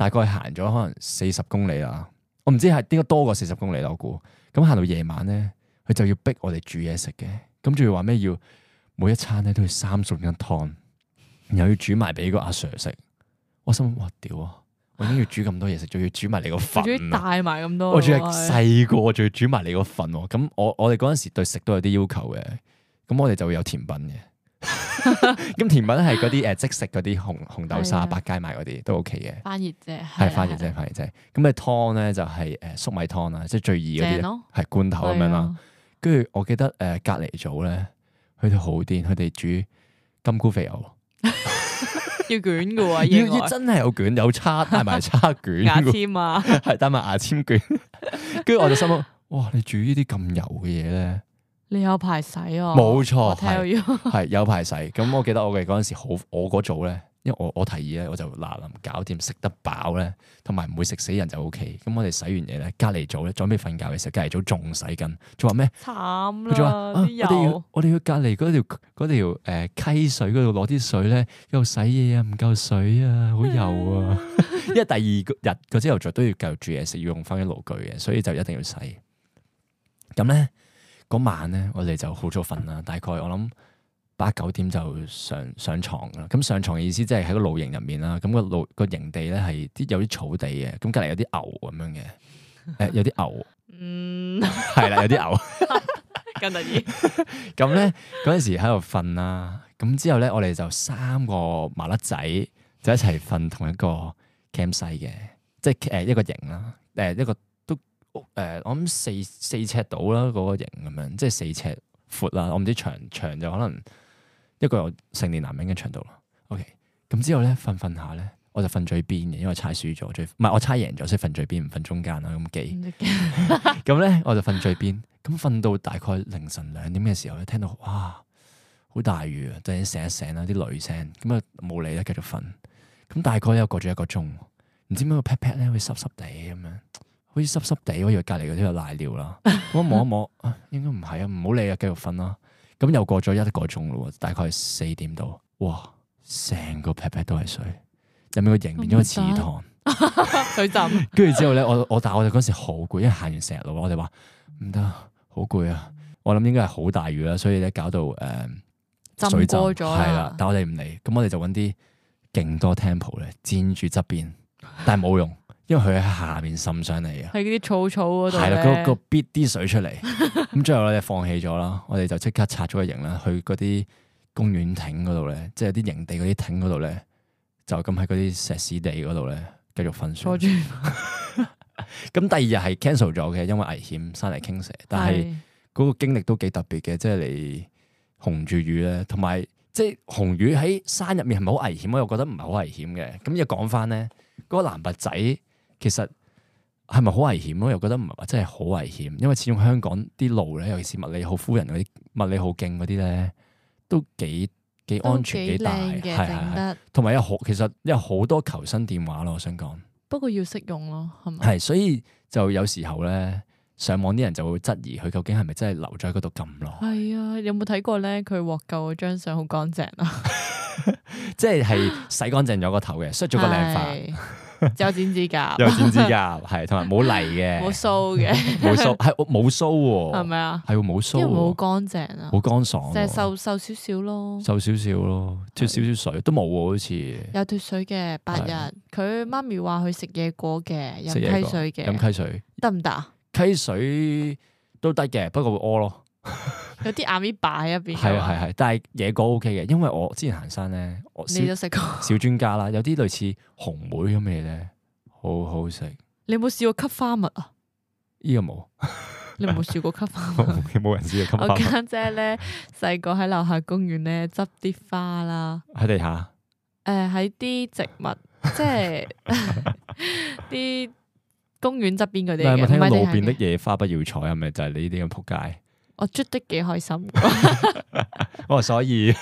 大概行咗可能四十公里啦。我唔知係應該多過四十公里啦，我估。咁行到夜晚咧，佢就要逼我哋煮嘢食嘅。咁仲要話咩？要每一餐咧都要三餸一湯，然後要煮埋俾個阿 Sir 食。我心諗哇屌啊！我已經要煮咁多嘢食，仲要煮埋你個份，仲要帶埋咁多。我仲係細個，仲要煮埋你個份。咁我我哋嗰陣時對食都有啲要求嘅。咁我哋就會有甜品嘅。咁甜品係嗰啲誒即食嗰啲紅紅豆沙、百佳買嗰啲都 OK 嘅。翻熱啫，係翻熱啫，翻熱啫。咁嘅湯咧就係誒粟米湯啦，即係最易嗰啲，係罐頭咁樣啦。跟住我記得誒隔離組咧，佢哋好癲，佢哋煮金菇肥牛。要捲嘅喎，要要真係有捲，有叉帶埋叉捲，牙籤啊，係帶埋牙籤捲。跟住我就心諗，哇！你煮呢啲咁油嘅嘢咧，你有排洗啊？冇錯，係係有排洗。咁我記得我哋嗰陣時好，我嗰組咧，因為我我提議咧，我就嗱臨搞掂，食得飽咧，同埋唔會食死人就 O K。咁我哋洗完嘢咧，隔離組咧準備瞓覺嘅時候，隔離組仲洗緊，仲話咩？慘啦！佢仲話我哋要我哋要隔離嗰條嗰條誒溪水嗰度攞啲水咧，喺度洗嘢啊，唔夠水啊，好油啊！因為第二日個朝頭早都要繼續煮嘢食，要用翻啲爐具嘅，所以就一定要洗。咁咧嗰晚咧，我哋就好早瞓啦，大概我諗八九點就上上床啦。咁上床嘅意思即係喺個露營入面啦。咁個露個營地咧係啲有啲草地嘅，咁隔籬有啲牛咁樣嘅，誒、呃、有啲牛，嗯，係啦，有啲牛，咁得意。咁咧嗰陣時喺度瞓啦，咁之後咧我哋就三個麻甩仔就一齊瞓同一個 campsite 嘅，即係誒一個營啦，誒一個都誒我諗四四尺到啦，嗰個營咁樣，即係四尺闊啦。我唔知長長就可能一個有成年男人嘅長度啦。OK，咁之後咧瞓瞓下咧，我就瞓最邊嘅，因為猜輸咗，最唔係我猜贏咗，所以瞓最邊唔瞓中間啦。咁記咁咧，我就瞓最邊。咁瞓到大概凌晨兩點嘅時候咧，聽到哇好大雨啊！突然醒一醒啦，啲雷聲，咁啊冇理啦，繼續瞓。咁大概又過咗一個鐘，唔知點解個 pat pat 咧會濕濕地咁樣，好似濕濕地，我以為隔離嗰啲有瀨尿啦。咁我摸一摸，啊應該唔係啊，唔好理啊，繼續瞓啦。咁又過咗一個鐘咯，大概四點度，哇！成個 pat pat 都係水，入面個營變咗個池塘，水浸。跟住之後咧，我我但係我哋嗰時好攰，因為行完成日路，我哋話唔得，好攰啊！我諗應該係好大雨啦，所以咧搞到誒、呃、水浸咗係啦。但我哋唔理，咁我哋就揾啲勁多 temple 咧，墊住側邊，但係冇用，因為佢喺下面滲上嚟啊。喺嗰啲草草嗰度係啦，嗰個逼啲水出嚟。咁最後我哋放棄咗啦，我哋就即刻拆咗個營啦，去嗰啲公園亭嗰度咧，即係啲營地嗰啲亭嗰度咧，就咁喺嗰啲石屎地嗰度咧，繼續瞓睡。咁第二日係 cancel 咗嘅，因為危險，山泥傾瀉。但係嗰個經歷都幾特別嘅，即係你紅住雨咧，同埋即係紅雨喺山入面係咪好危險？我又覺得唔係好危險嘅。咁又講翻咧，嗰個男拔仔其實係咪好危險？我又覺得唔係話真係好危險，因為始終香港啲路咧，尤其是麥理浩夫人嗰啲麥理浩徑嗰啲咧，都幾幾安全幾大，係係係。同埋有好，其實有好多求生電話咯，我想講。不過要識用咯，係咪？係，所以就有時候咧，上網啲人就會質疑佢究竟係咪真係留咗喺嗰度咁耐。係啊，有冇睇過咧？佢獲救嗰張相好乾淨啊，即係係洗乾淨咗個頭嘅，梳咗個靚髮。有剪指甲，有剪指甲，係同埋冇泥嘅，冇鬚嘅，冇鬚係冇鬚喎，係咪啊？係冇鬚，因為好乾淨啊，好乾爽，就係瘦瘦少少咯，瘦少少咯，脫少少水都冇喎，好似有脫水嘅八日。佢媽咪話佢食野果嘅，飲溪水嘅，飲溪水得唔得啊？溪水都得嘅，不過會屙咯。有啲阿咪擺喺入邊，係啊係係，但係野果 O K 嘅，因為我之前行山咧，我你都食過小專家啦，有啲類似紅莓咁嘅嘢咧，好好食。你有冇試過吸花蜜啊？呢個冇，你有冇試過吸花蜜？冇人試過吸花蜜。我家姐咧細個喺樓下公園咧執啲花啦，喺地下。誒，喺啲植物，即係啲公園側邊嗰啲。你有冇聽過路邊的野花不要採？係咪就係你呢啲咁仆街？我啜得幾開心，哦，所以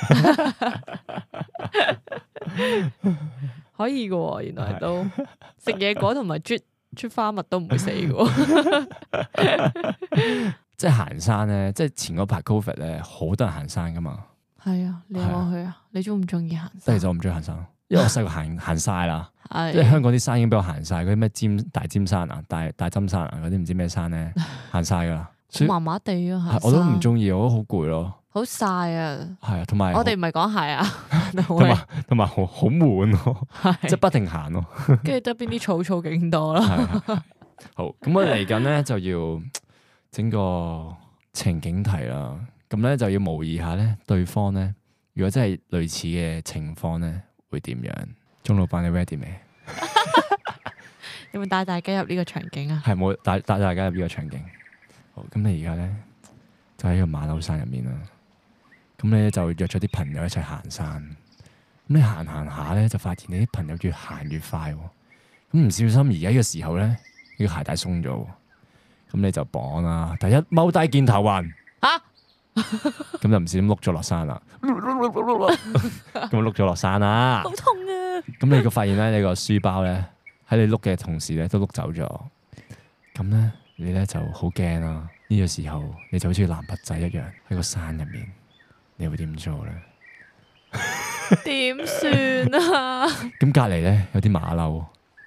可以嘅，原來都食野果同埋啜啜花蜜都唔會死嘅。即係行山咧，即係前嗰排 Covid 咧，好多人行山噶嘛。係啊，你有冇去啊？你中唔中意行山？即係就我唔中意行山， 因為我細個行行晒啦，即係香港啲山已經俾我行晒，嗰啲咩尖大尖山啊、大大針山啊嗰啲唔知咩山咧，行晒噶啦。 麻麻地啊， 我都唔中意，我覺得好攰咯。 好晒啊！ 係啊，同埋我哋唔係講鞋啊， 同埋同埋好好悶咯，即係不停行咯。 跟住側邊啲草草勁多啦。 好，咁我嚟緊咧就要整個情景題啦。咁咧就要模擬下咧對方咧，如果真係類似嘅情況咧，會點樣？鐘老闆你 ready 未？ 有冇帶大家入呢個場景啊？ 係冇帶帶大家入呢個場景。好，咁你而家咧就喺個馬騮山入面啦。咁你就約咗啲朋友一齊行山。咁你行行下咧，就發現你啲朋友越行越快。咁唔小心而家呢個時候咧，呢個鞋帶鬆咗。咁你就綁啦。第一踎低見頭暈。啊！咁就唔小心碌咗落山啦。咁碌咗落山啦。 好痛啊！ 咁你個發現咧，你個書包咧喺你碌嘅同時咧都碌走咗。咁咧你咧就好驚啦。呢個時候你就好似男拔仔一樣喺個山入面。你會點做咧？ 點算啊？ 咁隔籬咧有啲馬騮，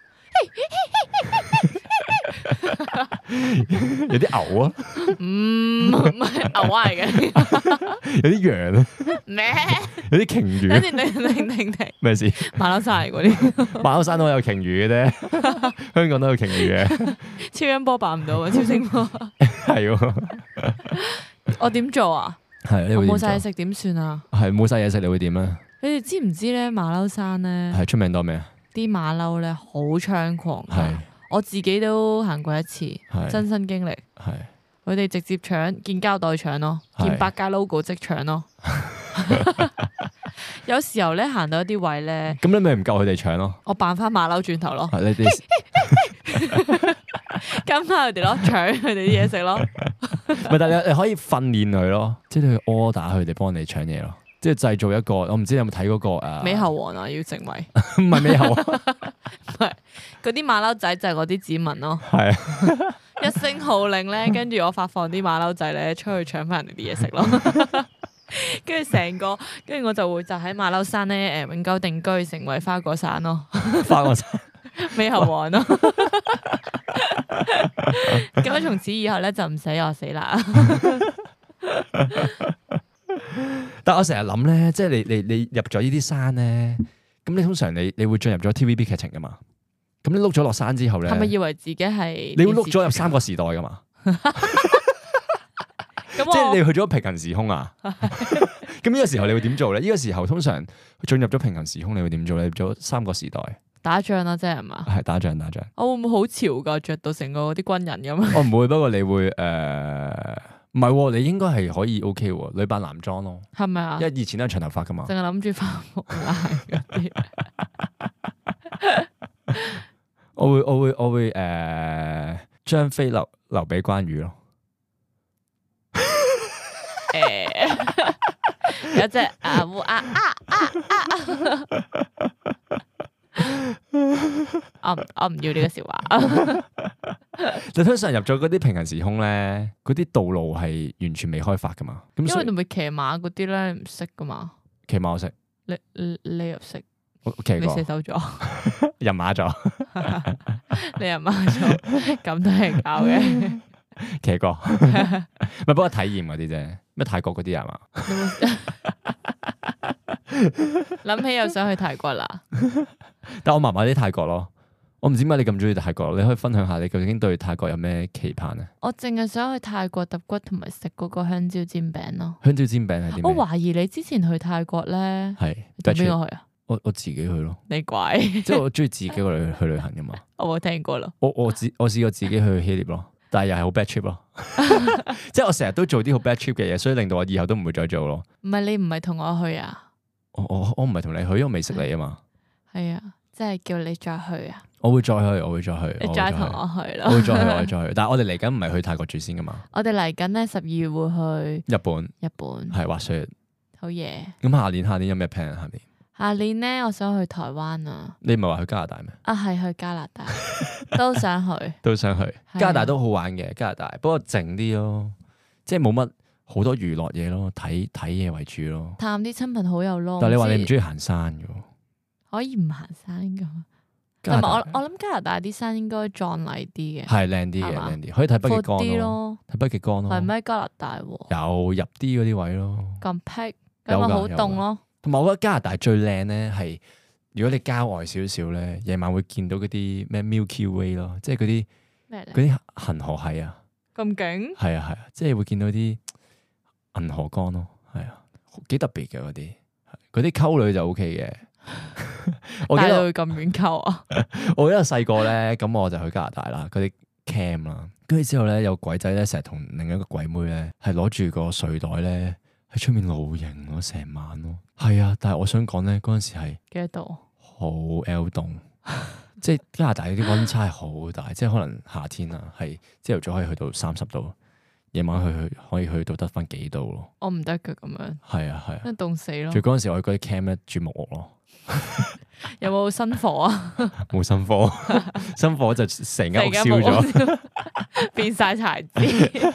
有啲牛啊， 唔唔係牛嚟嘅， 有啲羊啊， 咩？ 有啲鯨魚。 停停停停停！ 咩事？ 馬騮山嚟嗰啲， 馬騮山都有鯨魚嘅啫，香港都有鯨魚嘅。 超音波扮唔到啊！超聲波係， 我點做啊？ 係， 我冇晒嘢食點算啊？ 係冇晒嘢食，你會點咧？ 你哋知唔知咧？馬騮山咧係出名多咩啊？ 啲馬騮咧好猖狂，係我自己都行過一次，真身經歷。係佢哋直接搶，見膠袋搶咯，見百佳 logo 即搶咯。有時候咧行到一啲位咧， 咁你咪唔夠佢哋搶咯？ 我扮翻馬騮轉頭咯， 你哋跟翻佢哋咯，搶佢哋啲嘢食咯。 唔係，但係你你可以訓練佢咯，即係你去 order 佢哋幫你搶嘢咯，即係製造一個，我唔知你有冇睇嗰個誒美猴王啊，要成為唔係美猴王， 唔係嗰啲馬騮仔就係嗰啲子民咯， 係啊， 一聲號令咧，跟住我發放啲馬騮仔咧出去搶翻人哋啲嘢食咯，跟住成個，跟住我就會就喺馬騮山咧誒永久定居，成為花果山咯， 花果山美猴王咯。咁樣從此以後咧就唔使我死啦。 但我成日諗咧，即係你你你入咗呢啲山咧，咁你通常你你會進入咗 T V B 劇情噶嘛？咁你碌咗落山之後咧，係咪以為自己係？ 你會碌咗入三個時代噶嘛？即係你去咗平行時空啊？咁呢個時候你會點做咧？呢個時候通常進入咗平行時空，你會點做咧？入咗三個時代。 打仗啦，即係嘛？ 係打仗，打仗。 我會唔會好潮噶？着到成個啲軍人咁？ 我唔會，不過你會誒，唔、呃、係，你應該係可以 OK 喎，女扮男裝咯。係咪啊？因為以前都係長頭髮噶嘛。淨係諗住化木蘭嗰啲。我會，我會，我會誒，張飛留留俾關羽咯。誒，有隻啊烏啊啊啊啊！我唔我唔要呢個笑話。你通常入咗嗰啲平行時空咧，嗰啲道路係完全未開發噶嘛？咁因為你咪騎馬嗰啲咧唔識噶嘛？騎馬我識，你你你又識？我騎過，你射手座，人馬座，你人馬座，咁都係搞嘅。騎過，咪不過體驗嗰啲啫。咩泰國嗰啲係嘛？諗起又想去泰國啦。但我麻麻啲泰國咯，我唔知點解你咁中意泰國，你可以分享下你究竟對泰國有咩期盼咧？我淨係想去泰國揼骨同埋食嗰個香蕉煎餅咯。香蕉煎餅係點？我懷疑你之前去泰國咧，係同邊個去啊？我我自己去咯。你怪，即係我中意自己去去旅行噶嘛。我冇聽過咯。我我自我試過自己去希臘咯。但係又係好 bad trip 咯，即係我成日都做啲好 bad trip 嘅嘢，所以令到我以後都唔會再做咯。唔係你唔係同我去啊？我我我唔係同你去，因為我未識你啊嘛。係啊，即係叫你再去啊。我會再去，我會再去。你再同我去咯。我會再去，我會再去。但係我哋嚟緊唔係去泰國住先噶嘛？我哋嚟緊咧十二月會去日本。日本係滑雪。好嘢。咁下年下年有咩 plan 啊？下年？下年咧，我想去台灣啊！你唔係話去加拿大咩？啊，係去加拿大，都想去，都想去。加拿大都好玩嘅，加拿大不過靜啲咯，即係冇乜好多娛樂嘢咯，睇睇嘢為主咯。探啲親朋好友咯。但係你話你唔中意行山嘅？ 可以唔行山噶。同埋我我諗加拿大啲山應該壯麗啲嘅， 係靚啲嘅，靚啲可以睇北極光咯， 睇北極光咯。 係咩加拿大喎？ 有入啲嗰啲位咯。 咁僻，咁咪好凍咯。 同埋我覺得加拿大最靚咧係，如果你郊外少少咧，夜晚會見到嗰啲咩 Milky Way 咯，即係嗰啲咩嗰啲恆河系啊。咁勁？ 係啊係啊，即係會見到啲銀河光咯，係啊，幾特別嘅嗰啲，嗰啲溝女就 O K 嘅。 我記得會咁遠溝啊！ 我記得細個咧，咁我就去加拿大啦，嗰啲 camp 啦，跟住之後咧有鬼仔咧，成日同另一個鬼妹咧，係攞住個睡袋咧喺出面露營咯，成晚咯。係啊，但係我想講咧，嗰陣時係幾多度？ 好 L 凍，即係加拿大啲溫差係好大，即係可能夏天啊，係朝頭早可以去到三十度，夜晚去去可以去到得翻幾度咯。 我唔得嘅咁樣。係啊係啊， 真係凍死咯！ 最嗰陣時我去嗰啲 camp 咧住木屋咯。 有冇新火啊？ 冇新火，新火就成間屋燒咗， 變晒柴枝。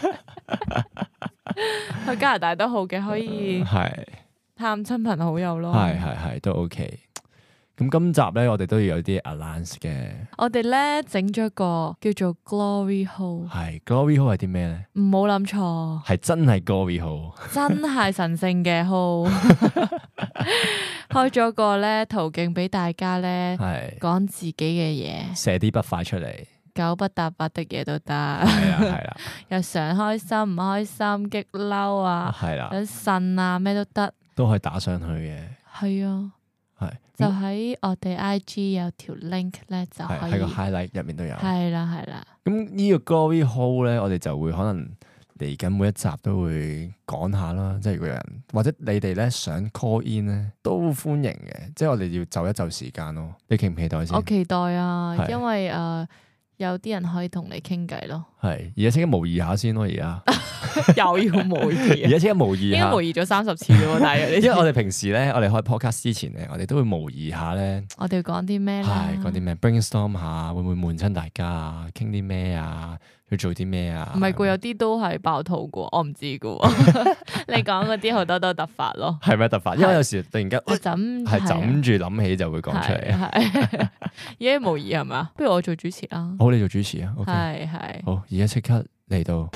去加拿大都好嘅，可以探親朋好友咯。 係係係都 OK。咁今集咧，我哋都要有啲 allowance 嘅。 我哋咧整咗個叫做 Glory Hole。 係 Glory Hole 係啲咩咧？ 唔好諗錯， 係真係 Glory Hole， 真係神聖嘅 Hole。開咗個咧途徑俾大家咧，講自己嘅嘢， 射啲筆快出嚟， 九不搭八的嘢都得。 係啦係啦， 又想開心唔開心，激嬲啊， 係啦， 想呻啊，咩都得， 都可以打上去嘅。 係啊。係，就喺我哋 I G 有條 link 咧，就可以喺個 highlight 入面都有。係啦， 係啦。 咁呢個 Glory Hole 咧，我哋就會可能嚟緊每一集都會講下啦。即係如果有人或者你哋咧想 call in 咧，都歡迎嘅。即係我哋要就一就時間咯。你期唔期待先？ 我期待啊，因為誒、呃、有啲人可以同你傾偈咯。 係，而家即刻模擬下先咯，而家。 又要模擬， 而家即刻模擬下， 應該模擬咗三十次咯，大約。 因為我哋平時咧，我哋開 podcast 之前咧，我哋都會模擬下咧。 我哋要講啲咩咧？ 係講啲咩 brainstorm 下，會唔會悶親大家啊？傾啲咩啊？要做啲咩啊？ 唔係噶，有啲都係爆肚噶，我唔知噶。你講嗰啲好多都突發咯。係咪突發？因為有時突然間係枕住諗起就會講出嚟。係而家模擬係嘛？不如我做主持啦。好，你做主持啊。係係。好，而家即刻嚟到。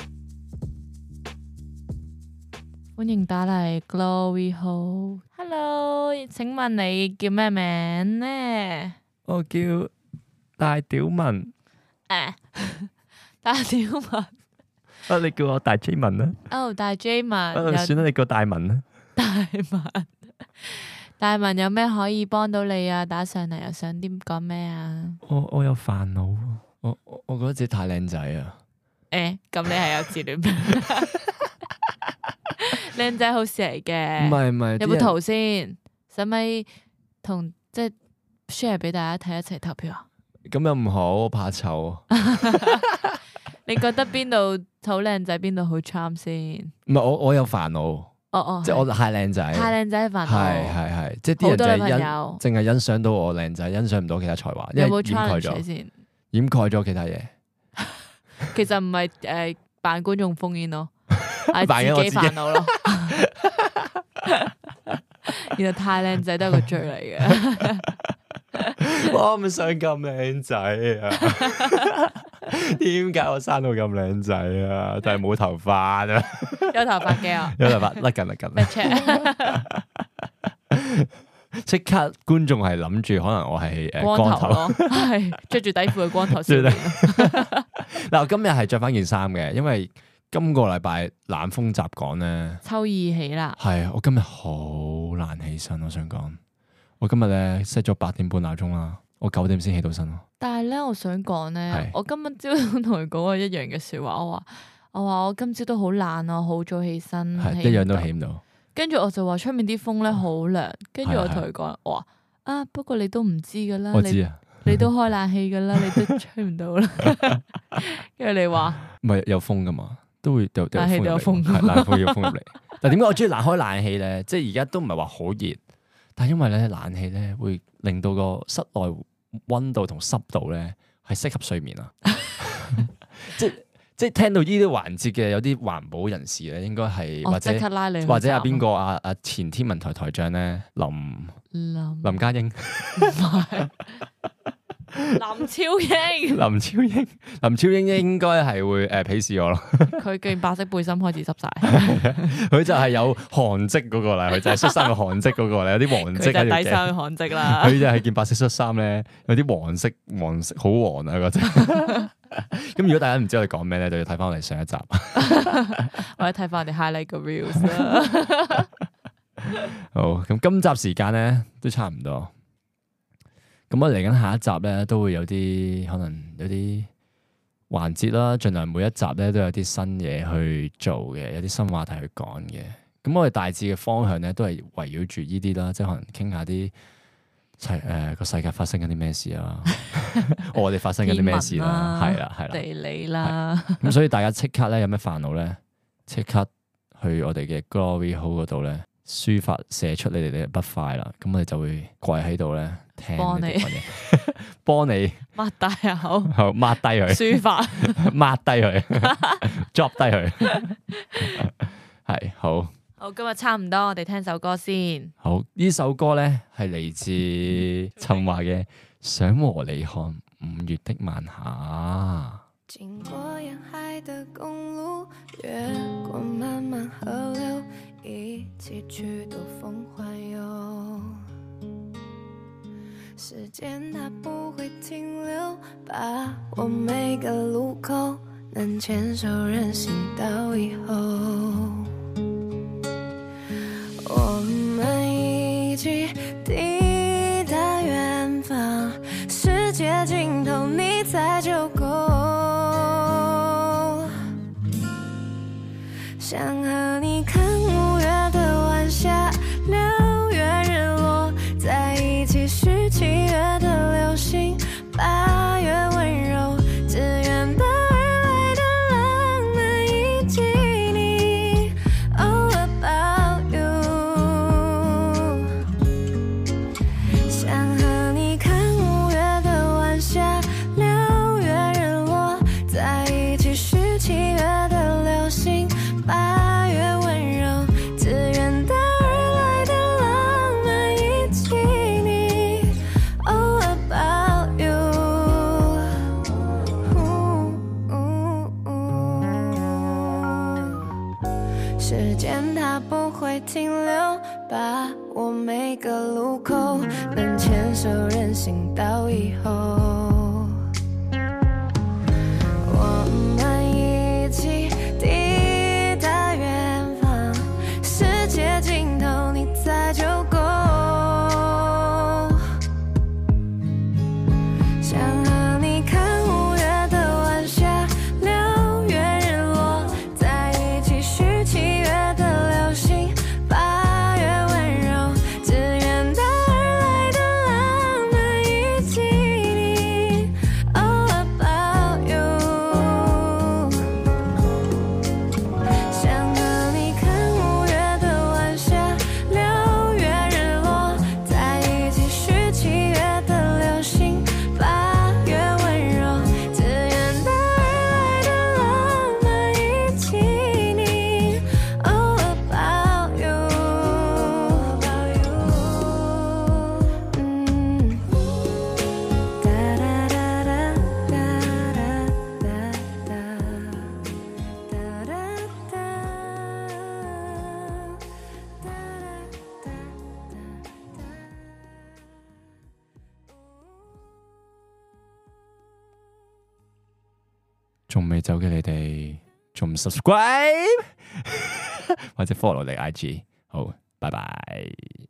歡迎打嚟 Glory Hole。Hello，請問你叫咩名呢？我叫大屌文。誒，大屌文。啊，你叫我大 J 文啦。哦，大 J 文。啊，算啦，你叫大文啦。大文。大文有咩可以幫到你啊？打上嚟又想點講咩啊？我我有煩惱。我我我覺得自己太靚仔啊。誒，咁你係有自戀病？靚仔好事嚟嘅，唔係唔係，有冇圖先？使咪同即係 share 俾大家睇，一齊投票啊？咁又唔好，怕醜。你覺得邊度好靚仔，邊度好 charm 先？唔係我我有煩惱，哦哦，即係我太靚仔，太靚仔煩惱，係係係，即係啲人就係欣淨係欣賞到我靚仔，欣賞唔到其他才華，因為掩蓋咗先，掩蓋咗其他嘢。其實唔係誒扮觀眾烽煙咯。係自己煩惱咯，原來太靚仔都係個罪嚟嘅。我唔想咁靚仔啊！點解我生到咁靚仔啊？但係冇頭髮啊！有頭髮嘅啊！有頭髮甩緊甩緊。即刻觀眾係諗住可能我係誒光頭咯，係着住底褲嘅光頭少年。嗱，我今日係着翻件衫嘅，因為。今個禮拜冷風習講咧，秋意起啦。係啊，我今日好難起身，我想講，我今日咧 set 咗八點半鬧鐘啦，我九點先起到身咯。但係咧，我想講咧，是我今日朝早同佢講過一樣嘅說話，我話我話我今朝都好懶啊，好早起身，係一樣都起唔到。跟住我就話出面啲風咧好涼，跟住我同佢講，我話啊，不過你都唔知噶啦，我知啊，你都開冷氣噶啦，你都吹唔到啦。跟住你話唔係有風噶嘛？都會有冷氣都有風，係冷風有風入嚟。但係點解我中意冷開冷氣咧？即係而家都唔係話好熱，但係因為咧冷氣咧會令到個室內溫度同濕度咧係適合睡眠啊。即係即係聽到呢啲環節嘅有啲環保人士咧，應該係或者拉你或者阿邊個阿阿前天文台台長咧林林林家英。 林超英， 林超英，林超英應該係會誒鄙視我咯。 佢件白色背心開始濕晒， 佢就係有汗跡嗰個啦，佢就係恤衫嘅汗跡嗰個啦，有啲黃色喺條頸。佢就底衫嘅汗跡啦。 佢就係件白色恤衫咧，有啲黃色，黃色好黃啊嗰隻。咁如果大家唔知我哋講咩咧，就要睇翻我哋上一集， 或者睇翻我哋 highlight 個 reels 啦。 好，咁今集時間咧都差唔多。咁我嚟緊下一集咧，都會有啲可能有啲環節啦，盡量每一集咧都有啲新嘢去做嘅，有啲新話題去講嘅。咁我哋大致嘅方向咧，都係圍繞住呢啲啦，即係可能傾下啲齊誒個世界發生緊啲咩事啊，我哋發生緊啲咩事啦，係啦係啦， 地理啦。 咁所以大家即刻咧有咩煩惱咧，即刻去我哋嘅 Glory Hole 嗰度咧，抒發寫出你哋嘅不快啦。咁我哋就會跪喺度咧。幫你，幫你擘大口， 好抹低佢， 抒發， 抹低佢，drop 低佢，係好。 好，今日差唔多，我哋聽首歌先。 好，呢首歌咧係嚟自陳華嘅《想和你看五月的晚霞》。經過沿海的公路，越過漫漫河流，一起去兜風環遊。時間它不會停留，把我每個路口能牽手任行到以後。我們一起抵達遠方，世界盡頭你在就夠。想和你看五月的晚霞，六月日落，在一起許七月的流星，八月溫柔，自遠道而來的浪漫以及你 All about you。 想和你看五月的晚霞，六月日落，在一起許七月的流星，八月溫柔，自遠道而來的浪漫以及你 All about you。 時間它不會停留，把我每個路口能牽手任行到以後。我們一起抵達遠方，世界盡頭你在就夠。想和你看五月的晚霞，六月日落，在一起許七月的流星，八月溫柔，自遠道而來的浪漫以及你 All about you。 想和你看五月的晚霞，六月日落，在一起許七月的流星，八月溫柔，自遠道而來的浪漫以及你 All about you。 嗯，噠噠噠噠噠噠噠噠，噠噠噠，噠噠噠。仲未走嘅你哋，仲唔 subscribe 或者 follow 你 I G？ 好，拜拜。